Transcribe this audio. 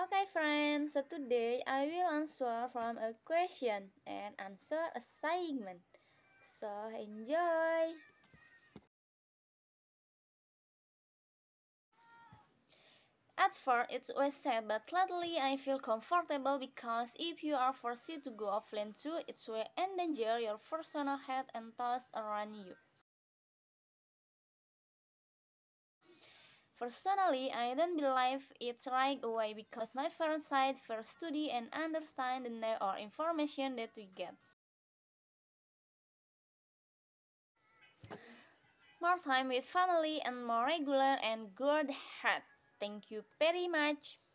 Okay friends, so today I will answer from a question and answer assignment. So enjoy! At first it was sad, but lately I feel comfortable because if you are forced to go offline too, it will endanger your personal health and those around you. Personally, I don't believe it's right away because my parents side first study and understand the need or information that we get. More time with family and more regular and good health. Thank you very much.